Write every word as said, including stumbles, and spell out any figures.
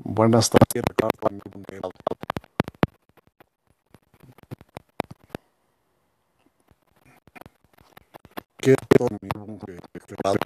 Buenas tardes, Ricardo, amigo mío. ¿Qué tal, amigo? Que- que-